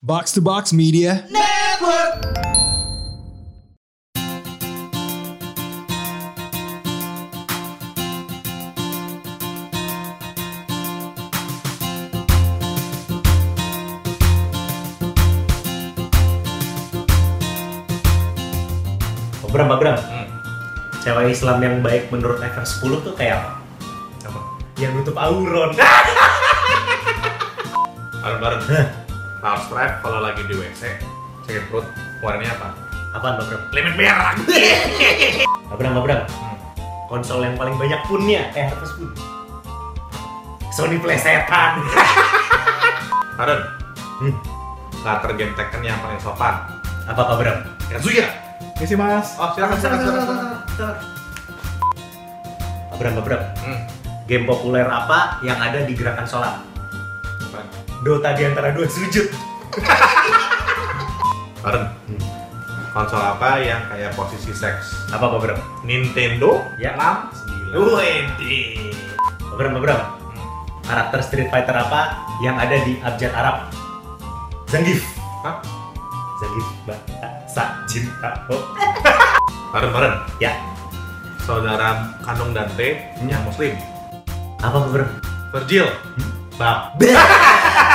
Box to Box Media Network. Bram, cewek Islam yang baik menurut Ever 10 tuh kayak apa? Apa? Yang nutup auron. Bareng-bareng. Harus stripe kalau lagi di WC, sakit perut, warnanya apa? Apaan Bram? Limit merah. Bram. Konsol yang paling banyak punnya Ever 10. Sony plesetan. Karen, karakter game Tekken yang paling sopan. Apa Bram? Kazuya. Misi mas. Oh, silakan. Bram. Game populer apa yang ada di gerakan sholat? Apa? Dota di antara dua sujud. Karen, konsol apa yang kayak posisi seks? Apa Bram? Nintendo? Ya. 9. Bram. Karakter Street Fighter apa yang ada di abjad Arab? Zangief. Hah? Zangief bahasa cinta. Oh. Karen. Ya. Saudara kandung Dante yang muslim. Apa Bram? Virgil. Bab.